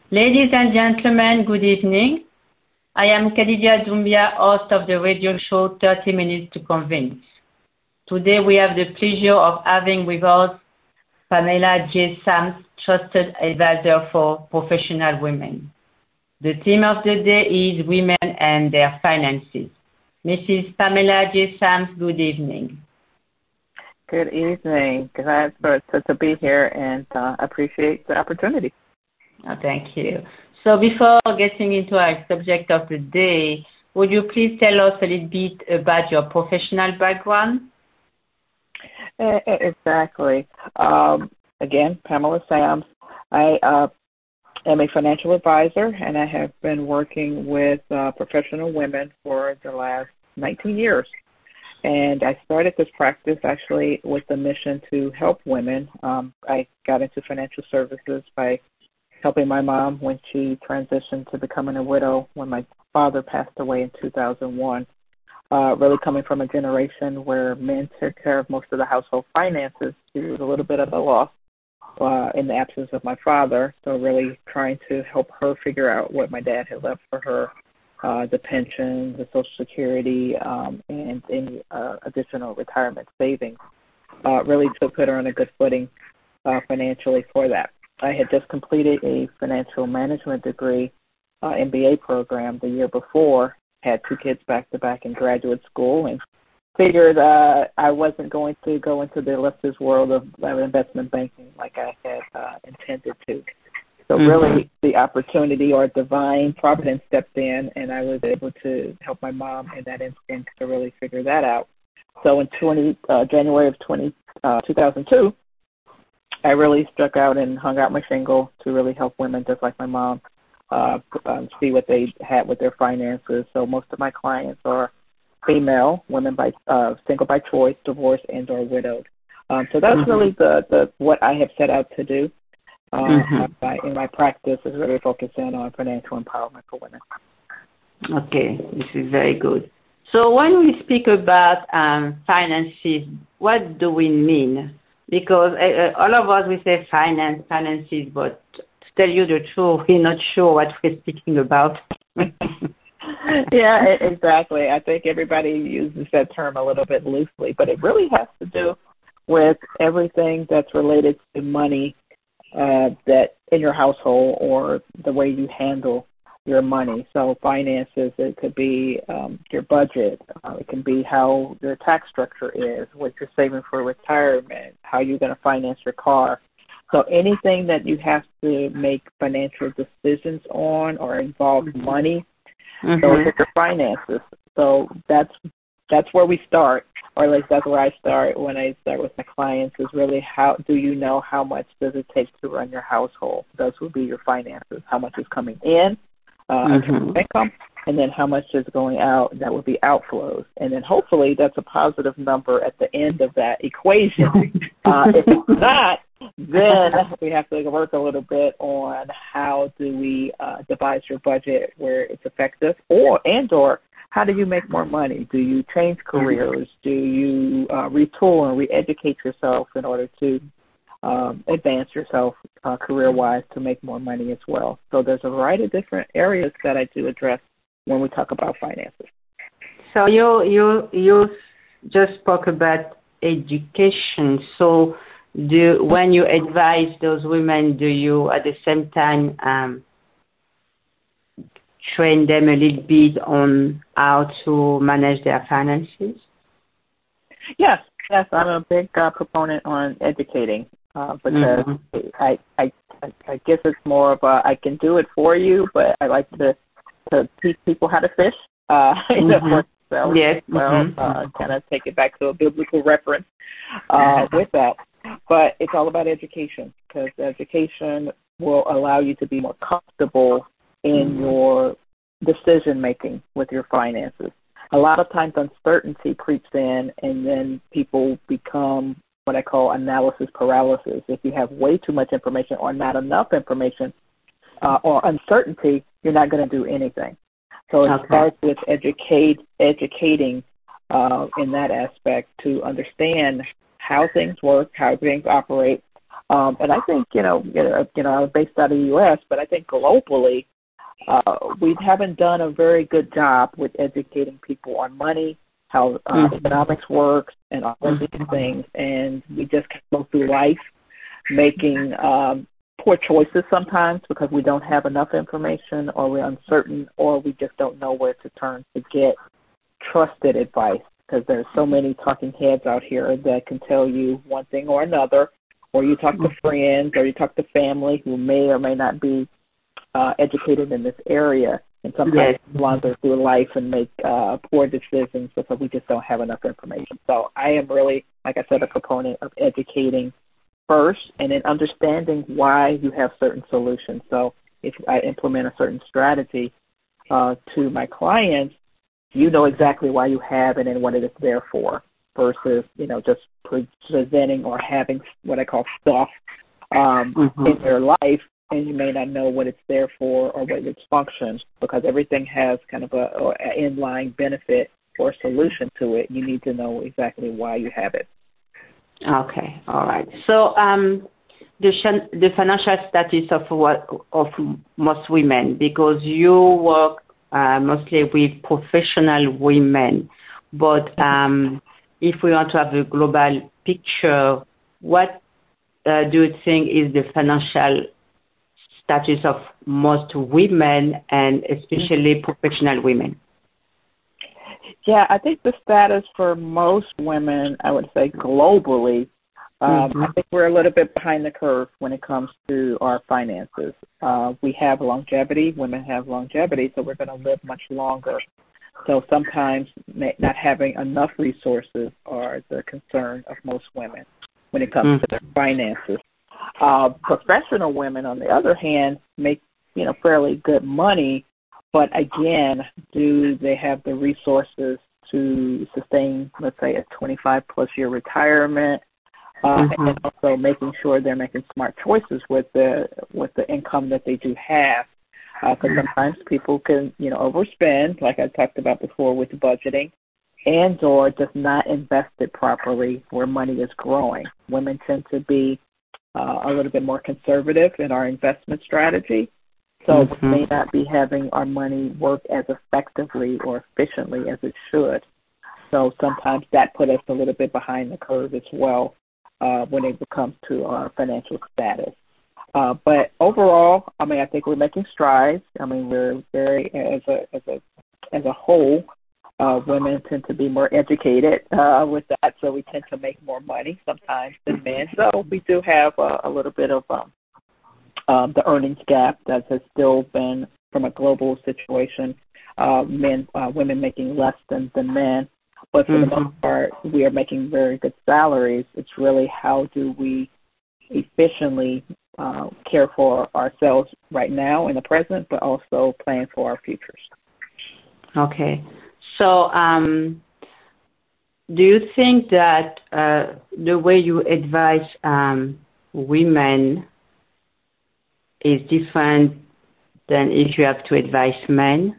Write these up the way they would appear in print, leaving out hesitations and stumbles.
Ladies and gentlemen, good evening. I am Khadija Doumbia, host of the radio show 30 Minutes to Convince. Today we have the pleasure of having with us Pamela J. Sams, trusted advisor for professional women. The theme of the day is women and their finances. Mrs. Pamela J. Sams, good evening. Good evening. Glad to be here and appreciate the opportunity. Oh, thank you. So before getting into our subject of the day, would you please tell us a little bit about your professional background? Exactly. Again, Pamela Sams. I am a financial advisor, and I have been working with professional women for the last 19 years. And I started this practice actually with the mission to help women. I got into financial services by helping my mom when she transitioned to becoming a widow when my father passed away in 2001. Really coming from a generation where men took care of most of the household finances. She was a little bit at a loss in the absence of my father, so really trying to help her figure out what my dad had left for her, the pension, the Social Security, and any additional retirement savings, really to put her on a good footing financially for that. I had just completed a financial management degree MBA program the year before, had two kids back-to-back in graduate school, and figured I wasn't going to go into the illustrious world of investment banking like I had intended to. So really the opportunity or divine providence stepped in, and I was able to help my mom in that instance to really figure that out. So in January of 2002, I really struck out and hung out my shingle to really help women just like my mom see what they had with their finances. So most of my clients are female, women by single by choice, divorced, and or widowed. So that's really the what I have set out to do in my practice is really focusing on financial empowerment for women. Okay, this is very good. So when we speak about finances, what do we mean? Because all of us, we say finances, but to tell you the truth, we're not sure what we're speaking about. Yeah, exactly. I think everybody uses that term a little bit loosely, but it really has to do with everything that's related to money that in your household or the way you handle your money. So finances, it could be your budget. It can be how your tax structure is, what you're saving for retirement, how you're going to finance your car. So anything that you have to make financial decisions on or involve money, those are your finances. So that's where we start, or at least that's where I start when I start with my clients, is really how do you know how much does it take to run your household? Those would be your finances. How much is coming in, income, and then how much is going out? That would be outflows. And then hopefully that's a positive number at the end of that equation. If it's not, then we have to work a little bit on how do we devise your budget where it's effective, or how do you make more money? Do you change careers? Do you retool and re-educate yourself in order to advance yourself career-wise to make more money as well? So there's a variety of different areas that I do address when we talk about finances. So you just spoke about education. So when you advise those women, do you at the same time train them a little bit on how to manage their finances? Yes, I'm a big proponent on educating because I guess it's more of a I can do it for you, but I like to teach people how to fish. Yes. Kind of take it back to a biblical reference with that. But it's all about education, because education will allow you to be more comfortable in your decision-making with your finances. A lot of times uncertainty creeps in, and then people become what I call analysis paralysis. If you have way too much information or not enough information or uncertainty, you're not going to do anything. So it starts with educating in that aspect to understand how things work, how things operate, And I think, I was based out of the U.S., but I think globally, we haven't done a very good job with educating people on money, how economics works, and all of these things. And we just go through life making poor choices sometimes because we don't have enough information, or we're uncertain, or we just don't know where to turn to get trusted advice, because there's so many talking heads out here that can tell you one thing or another, or you talk to friends, or you talk to family who may or may not be educated in this area, and sometimes wander through life and make poor decisions because we just don't have enough information. So I am really, like I said, a proponent of educating first and then understanding why you have certain solutions. So if I implement a certain strategy to my clients, you know exactly why you have it and what it is there for, versus, just presenting or having what I call stuff in their life, and you may not know what it's there for or what its functions, because everything has kind of a inline benefit or solution to it. You need to know exactly why you have it. Okay, all right. So the financial status of most women, because you work mostly with professional women, but if we want to have a global picture, what do you think is the financial status of most women, and especially professional women? Yeah, I think the status for most women, I would say globally, I think we're a little bit behind the curve when it comes to our finances. We have longevity. Women have longevity, so we're going to live much longer. So sometimes not having enough resources are the concern of most women when it comes to their finances. Professional women, on the other hand, make fairly good money, but again, do they have the resources to sustain, let's say, a 25-plus year retirement, and also making sure they're making smart choices with the income that they do have? Because sometimes people can, overspend, like I talked about before with budgeting, and or just not invest it properly where money is growing. Women tend to be a little bit more conservative in our investment strategy, so we may not be having our money work as effectively or efficiently as it should. So sometimes that put us a little bit behind the curve as well when it comes to our financial status. But overall, I think we're making strides. We're very, as a whole, women tend to be more educated with that, so we tend to make more money sometimes than men. So we do have a little bit of the earnings gap that has still been, from a global situation, women making less than men. But for the most part, we are making very good salaries. It's really how do we efficiently care for ourselves right now in the present, but also plan for our futures. Okay. So do you think that the way you advise women is different than if you have to advise men?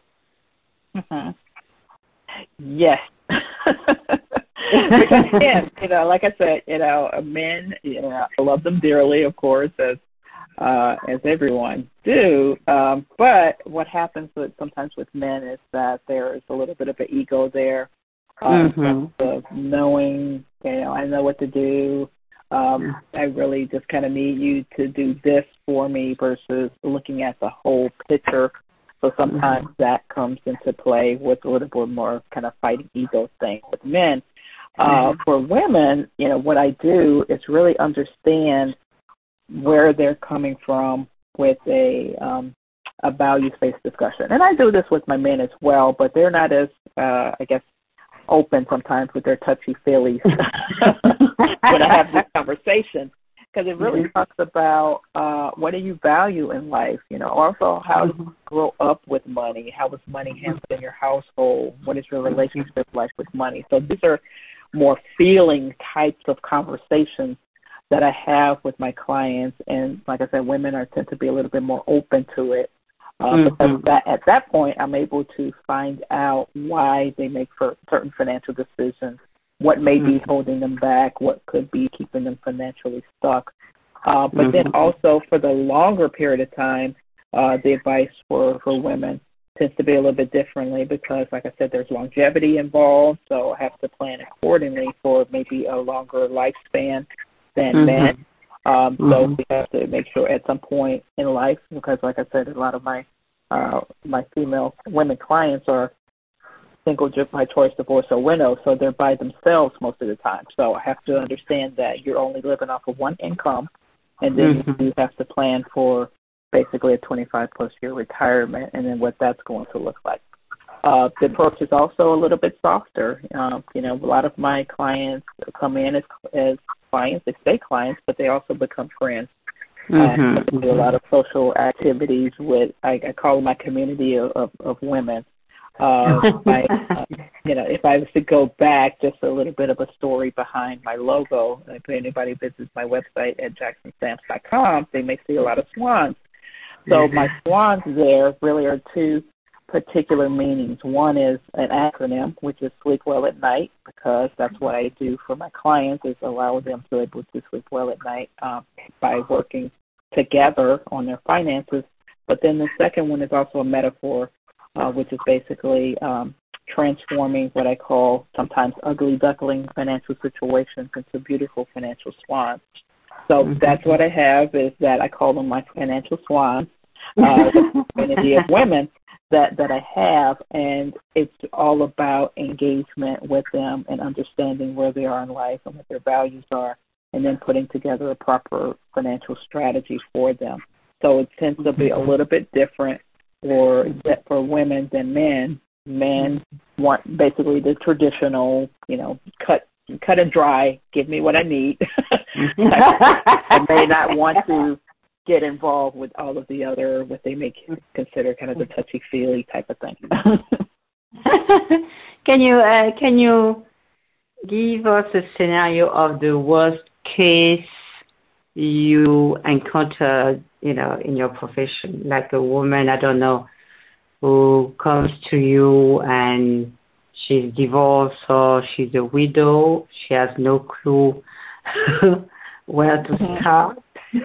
Yes. Because again, like I said, men, I love them dearly, of course, as everyone do. But what happens sometimes with men is that there is a little bit of an ego there, in terms of knowing, I know what to do. I really just kind of need you to do this for me, versus looking at the whole picture. So sometimes that comes into play with a little bit more kind of fighting ego thing with men. For women, what I do is really understand where they're coming from with a values-based discussion. And I do this with my men as well, but they're not as, open sometimes with their touchy-feelies when I have this conversation, because it really talks about what do you value in life, also how you grow up with money, how was money handled in your household, what is your relationship like with money. So these are more feeling types of conversations that I have with my clients, and like I said, women tend to be a little bit more open to it. Because at that point, I'm able to find out why they make certain financial decisions what may be holding them back, what could be keeping them financially stuck. But then also for the longer period of time, the advice for women tends to be a little bit differently because, like I said, there's longevity involved, so I have to plan accordingly for maybe a longer lifespan than men. So we have to make sure at some point in life, because like I said, a lot of my female women clients are single by choice, divorce, or widow, so they're by themselves most of the time. So I have to understand that you're only living off of one income, and then you have to plan for basically a 25-plus year retirement and then what that's going to look like. The approach is also a little bit softer. A lot of my clients come in as clients, they stay clients, but they also become friends. I do a lot of social activities with, I call it my community of women. If I was to go back, just a little bit of a story behind my logo. If anybody visits my website at jacksonstamps.com, they may see a lot of swans. So my swans there really are two particular meanings. One is an acronym, which is Sleep Well at Night, because that's what I do for my clients, is allow them to be able to sleep well at night by working together on their finances. But then the second one is also a metaphor, which is basically transforming what I call sometimes ugly duckling financial situations into beautiful financial swans. So that's what I have, is that I call them my financial swans, the community of women that I have, and it's all about engagement with them and understanding where they are in life and what their values are, and then putting together a proper financial strategy for them. So it tends to be a little bit different for women than men. Men want basically the traditional, cut and dry, give me what I need. I may not want to get involved with all of the other, what they may consider kind of the touchy-feely type of thing. Can you give us a scenario of the worst case you encountered, in your profession, like a woman, I don't know, who comes to you and she's divorced or she's a widow, she has no clue where to start.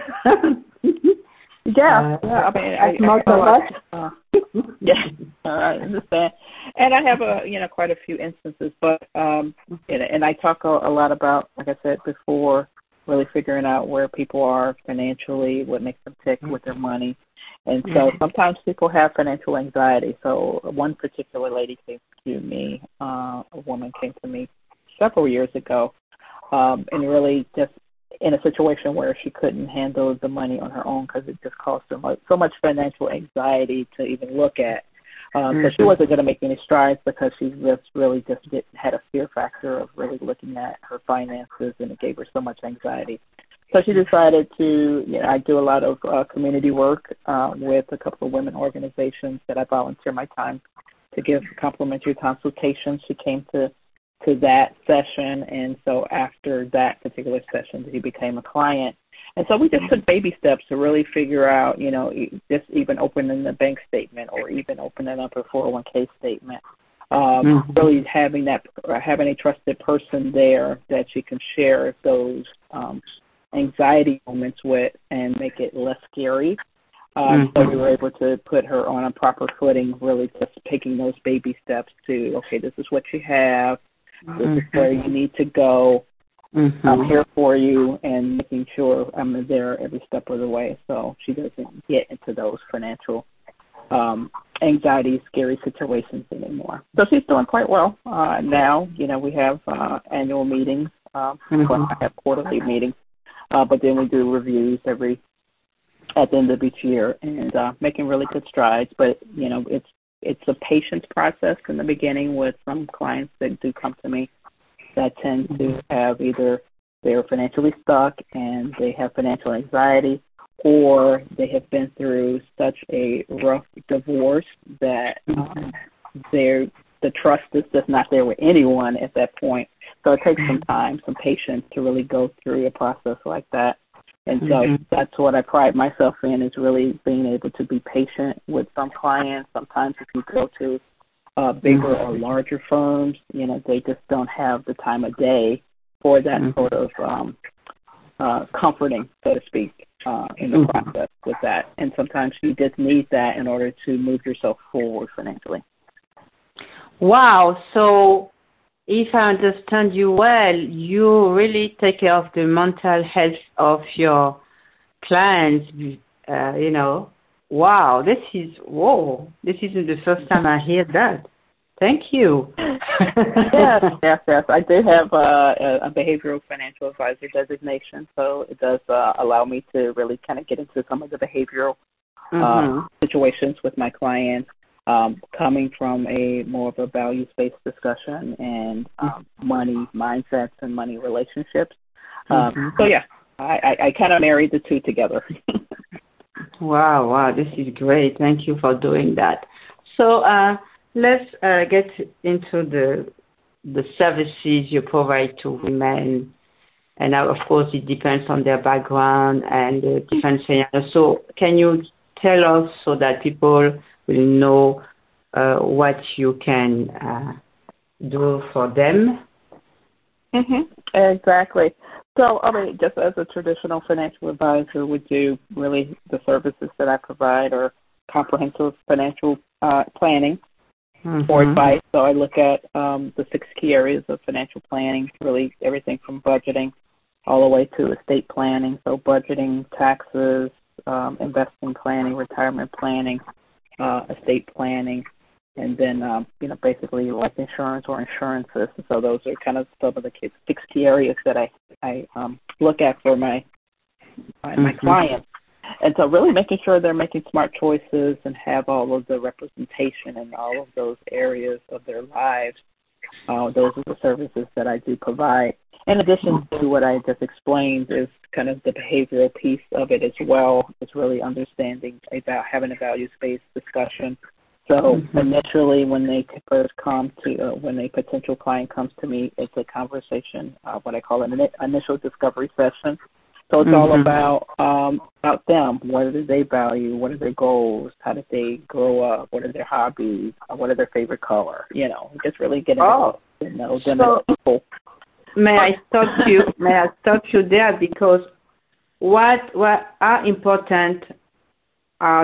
I understand, and I have quite a few instances, but and I talk a lot about, like I said before, really figuring out where people are financially, what makes them tick with their money. And so sometimes people have financial anxiety. So one particular lady came to me, a woman came to me several years ago, and really just in a situation where she couldn't handle the money on her own because it just caused her so much financial anxiety to even look at. So she wasn't going to make any strides because she had a fear factor of really looking at her finances, and it gave her so much anxiety. So she decided to, I do a lot of community work with a couple of women organizations that I volunteer my time to give complimentary consultations. She came to that session, and so after that particular session, she became a client. And so we just took baby steps to really figure out, just even opening the bank statement or even opening up a 401k statement. Really having a trusted person there that she can share those anxiety moments with and make it less scary. So we were able to put her on a proper footing, really just taking those baby steps to, okay, this is what you have, this is where you need to go. I'm here for you, and making sure I'm there every step of the way so she doesn't get into those financial anxiety, scary situations anymore. So she's doing quite well now. We have annual meetings. I have quarterly meetings, but then we do reviews at the end of each year, and making really good strides. But, it's a patience process in the beginning with some clients that do come to me that tend to have either they're financially stuck and they have financial anxiety, or they have been through such a rough divorce that the trust is just not there with anyone at that point. So it takes some time, some patience to really go through a process like that. And so that's what I pride myself in, is really being able to be patient with some clients. Sometimes if you go to bigger or larger firms, they just don't have the time of day for that sort of comforting, so to speak, in the process with that. And sometimes you just need that in order to move yourself forward financially. Wow. So if I understand you well, you really take care of the mental health of your clients, Wow, this isn't the first time I hear that. Thank you. Yes. I do have a behavioral financial advisor designation, so it does allow me to really kind of get into some of the behavioral situations with my clients, coming from a more of a values-based discussion and money mindsets and money relationships. So yeah, I kind of married the two together. Wow, this is great. Thank you for doing that. So let's get into the services you provide to women. And now, of course, it depends on their background and the different scenarios. So can you tell us so that people will know what you can do for them? Exactly. So, just as a traditional financial advisor would do, really the services that I provide are comprehensive financial planning for advice. So I look at the 6 key areas of financial planning, really everything from budgeting all the way to estate planning. So budgeting, taxes, investing planning, retirement planning, estate planning, and then, basically life insurance or insurances. So those are kind of some of the 6 key areas that I look at for my clients. And so really making sure they're making smart choices and have all of the representation in all of those areas of their lives. Those are the services that I do provide. In addition to what I just explained is kind of the behavioral piece of it as well. It's really understanding about having a values-based discussion. So initially when they first come to, when a potential client comes to me, it's a conversation, what I call an initial discovery session. So it's all about them. What do they value? What are their goals? How did they grow up? What are their hobbies? What are their favorite color? Just really getting to know them as people. May I stop you there because what are important are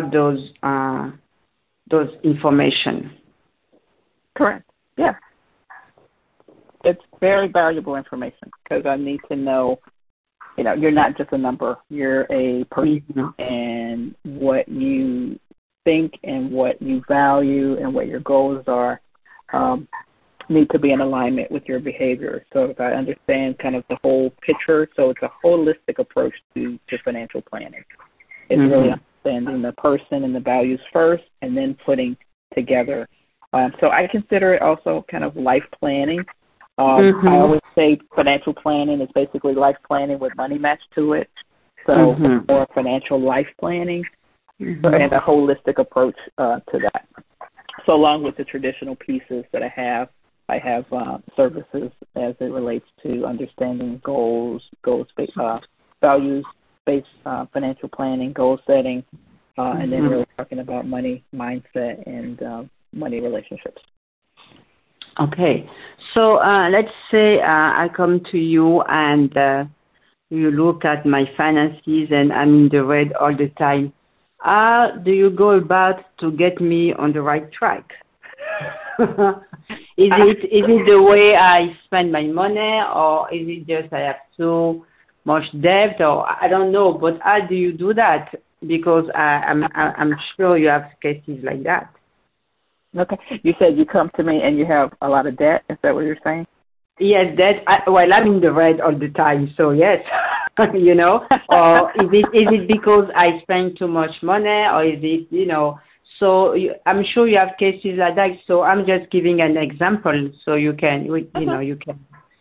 those information. Correct. Yeah. It's very valuable information because I need to know, you're not just a number. You're a person, and what you think and what you value and what your goals are need to be in alignment with your behavior. So if I understand kind of the whole picture, so it's a holistic approach to financial planning. It's really understanding the person and the values first and then putting together. So I consider it also kind of life planning. I always say financial planning is basically life planning with money matched to it. So more financial life planning and a holistic approach to that. So along with the traditional pieces that I have services as it relates to understanding goals-based, values-based financial planning, goal setting, and then really talking about money mindset and money relationships. Okay. So let's say I come to you and you look at my finances and I'm in the red all the time. How do you go about to get me on the right track? Is it the way I spend my money, or is it just I have too much debt, or I don't know? But how do you do that? Because I'm sure you have cases like that. Okay. You said you come to me and you have a lot of debt. Is that what you're saying? Yes, debt. I'm in the red all the time, so yes. Or is it because I spend too much money, or is it, so I'm sure you have cases like that, so I'm just giving an example so you can, you can.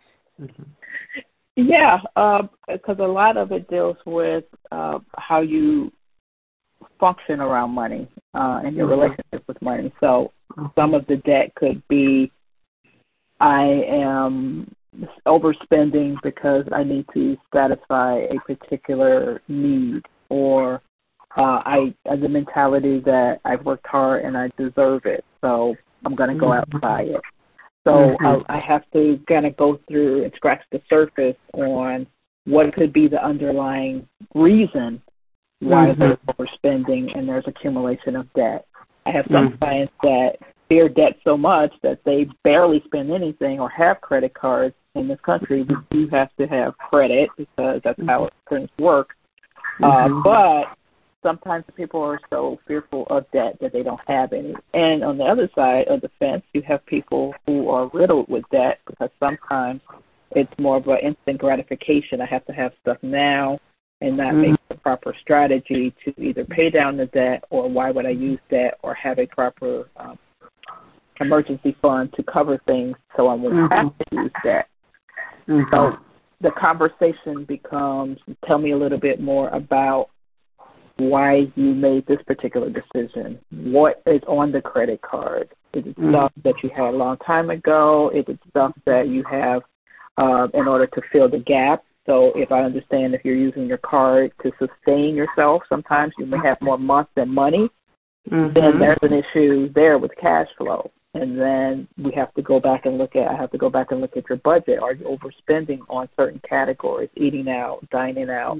Yeah, because a lot of it deals with how you function around money and your relationship with money. So some of the debt could be I am overspending because I need to satisfy a particular need, or I have the mentality that I've worked hard and I deserve it. So I'm going to go out and buy it. So I have to kind of go through and scratch the surface on what could be the underlying reason why they're overspending and there's accumulation of debt. I have some clients that fear debt so much that they barely spend anything or have credit cards in this country. But you have to have credit because that's how things work. But sometimes people are so fearful of debt that they don't have any. And on the other side of the fence, you have people who are riddled with debt because sometimes it's more of an instant gratification. I have to have stuff now and not make the proper strategy to either pay down the debt or why would I use debt or have a proper emergency fund to cover things so I won't have to use debt. So the conversation becomes, tell me a little bit more about why you made this particular decision. What is on the credit card? Is it stuff that you had a long time ago? Is it stuff that you have in order to fill the gap? So if I understand, if you're using your card to sustain yourself, sometimes you may have more months than money, then there's an issue there with cash flow. And then we have to go back and look at your budget. Are you overspending on certain categories, eating out, dining out,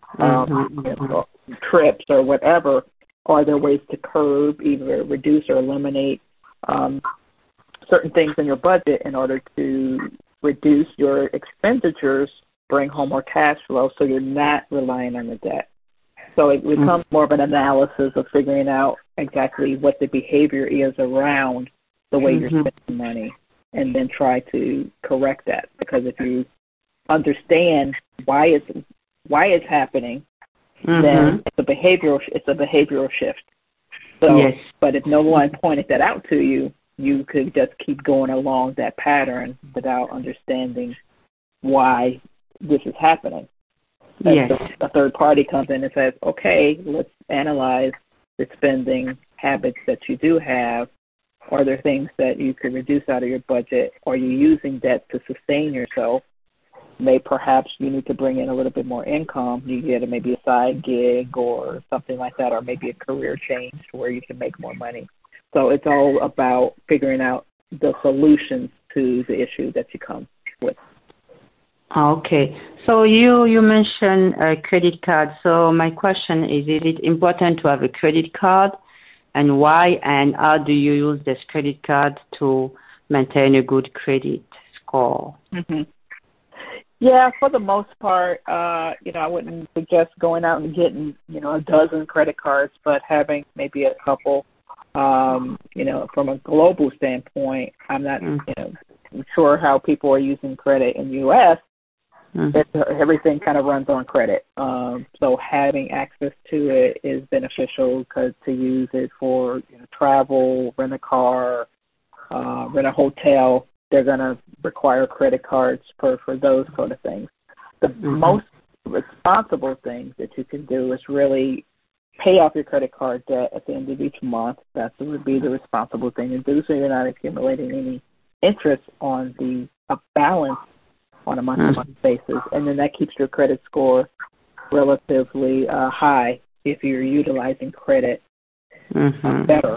trips or whatever? Are there ways to curb, either reduce or eliminate certain things in your budget in order to reduce your expenditures, bring home more cash flow so you're not relying on the debt? So it becomes more of an analysis of figuring out exactly what the behavior is around the way you're spending money, and then try to correct that. Because if you understand why it's happening, then it's a behavioral shift. So, but if no one pointed that out to you, you could just keep going along that pattern without understanding why this is happening. So a third party comes in and says, okay, let's analyze the spending habits that you do have. Are there things that you could reduce out of your budget? Are you using debt to sustain yourself? Perhaps you need to bring in a little bit more income. You get maybe a side gig or something like that, or maybe a career change where you can make more money. So it's all about figuring out the solutions to the issue that you come with. Okay. So you mentioned a credit card. So my question is it important to have a credit card, and why, and how do you use this credit card to maintain a good credit score? Yeah, for the most part, I wouldn't suggest going out and getting, a dozen credit cards, but having maybe a couple. From a global standpoint, I'm not, sure how people are using credit in the U.S. Everything kind of runs on credit. So having access to it is beneficial because to use it for travel, rent a car, rent a hotel, they're going to require credit cards for those sort of things. The most responsible thing that you can do is really pay off your credit card debt at the end of each month. That would be the responsible thing to do, so you're not accumulating any interest on the balance on a month-to-month basis, and then that keeps your credit score relatively high if you're utilizing credit better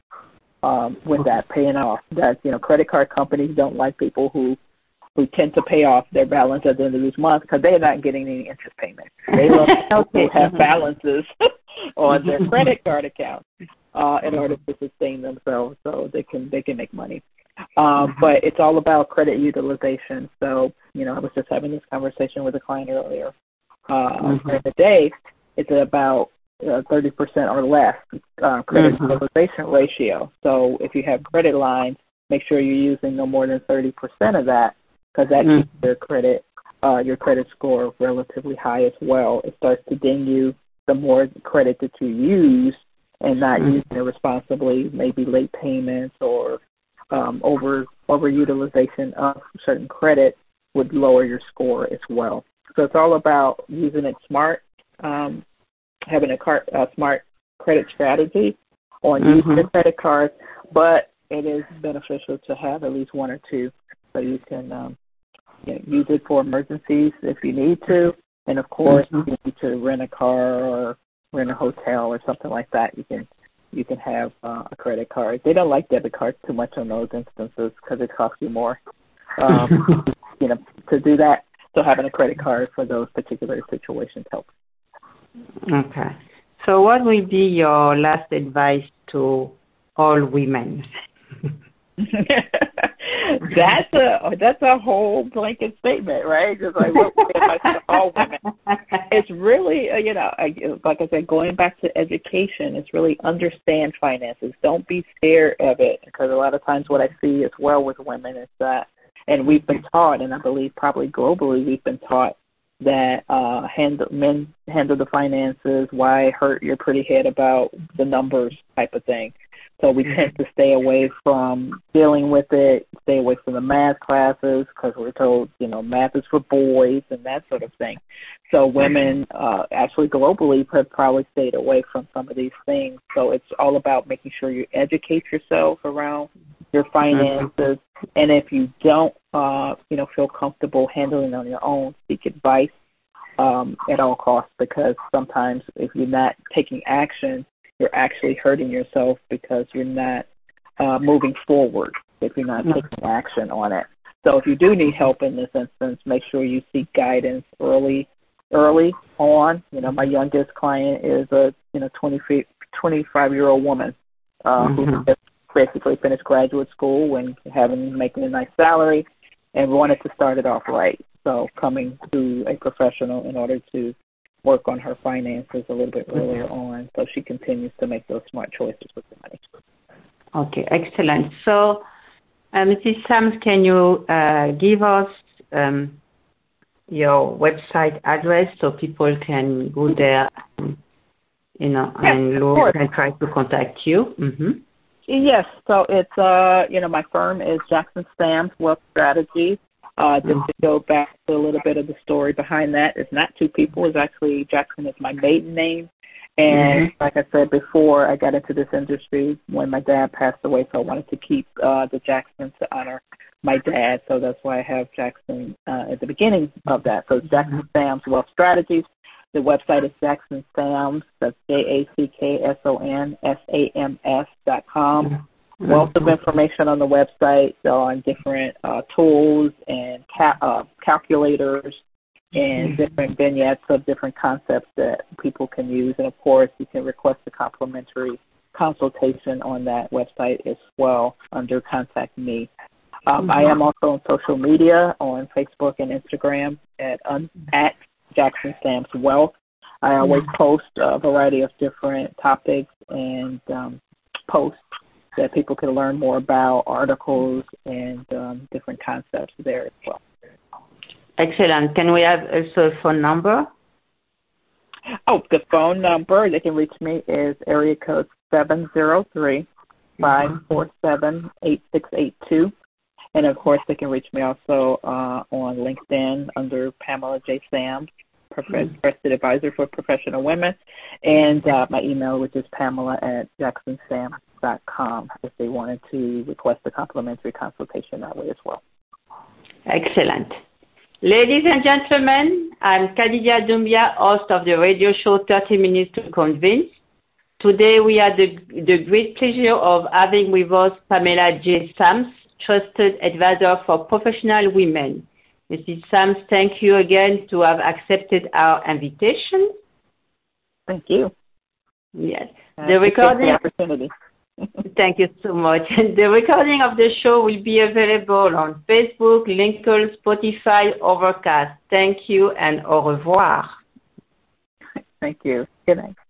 with that paying off. That credit card companies don't like people who tend to pay off their balance at the end of each month because they're not getting any interest payments. They love people who have balances on their credit card account in order to sustain themselves so they can make money. But it's all about credit utilization. So, I was just having this conversation with a client earlier. During the day, it's about 30% or less credit utilization ratio. So if you have credit lines, make sure you're using no more than 30% of that, because that keeps your credit score relatively high as well. It starts to ding you the more credit that you use and not using it responsibly, maybe late payments or overutilization of certain credit would lower your score as well. So it's all about using it smart, having a smart credit strategy on using your credit card, but it is beneficial to have at least one or two so you can use it for emergencies if you need to. And, of course, if you need to rent a car or rent a hotel or something like that, you can you can have a credit card. They don't like debit cards too much on those instances because it costs you more, to do that. So having a credit card for those particular situations helps. Okay. So what will be your last advice to all women? That's a whole blanket statement, right? Just like what advice to all women. It's really, like I said, going back to education, it's really understand finances. Don't be scared of it, because a lot of times what I see as well with women is that, and we've been taught, and I believe probably globally we've been taught that men handle the finances, why hurt your pretty head about the numbers type of thing. So we tend to stay away from dealing with it, stay away from the math classes, because we're told, math is for boys and that sort of thing. So women actually globally have probably stayed away from some of these things. So it's all about making sure you educate yourself around your finances. And if you don't, feel comfortable handling on your own, seek advice at all costs, because sometimes if you're not taking action, you're actually hurting yourself because you're not moving forward if you're not taking action on it. So if you do need help in this instance, make sure you seek guidance early on. My youngest client is a 25-year-old woman who basically finished graduate school and making a nice salary and wanted to start it off right. So coming to a professional in order to work on her finances a little bit earlier on, so she continues to make those smart choices with the money. Okay, excellent. So, Mrs. Sams, can you give us your website address so people can go there, and look and try to contact you? Mm-hmm. Yes. So it's my firm is Jackson Sams Wealth Strategies. Just to go back to a little bit of the story behind that, it's not two people. It's actually Jackson is my maiden name. And like I said before, I got into this industry when my dad passed away, so I wanted to keep the Jackson to honor my dad. So that's why I have Jackson at the beginning of that. So it's Jackson Sams Wealth Strategies. The website is Jackson Sams, that's JacksonSams.com. Wealth of information on the website on different tools and calculators and different vignettes of different concepts that people can use. And, of course, you can request a complimentary consultation on that website as well under Contact Me. I am also on social media on Facebook and Instagram at Jackson Sams Wealth. I always post a variety of different topics and posts that people can learn more about, articles and different concepts there as well. Excellent. Can we have also a phone number? Oh, the phone number they can reach me is area code 703-547-8682. And, of course, they can reach me also on LinkedIn under Pamela J. Sams, Trusted Advisor for Professional Women, and my email, which is pamela@jacksonsams.com, if they wanted to request a complimentary consultation that way as well. Excellent. Ladies and gentlemen, I'm Khadija Doumbia, host of the radio show 30 Minutes to Convince. Today we had the great pleasure of having with us Pamela J. Sams, Trusted Advisor for Professional Women. Mrs. Sams, thank you again to have accepted our invitation. Thank you. Yes. The recording. The opportunity. Thank you so much. The recording of the show will be available on Facebook, LinkedIn, Spotify, Overcast. Thank you and au revoir. Thank you. Good night.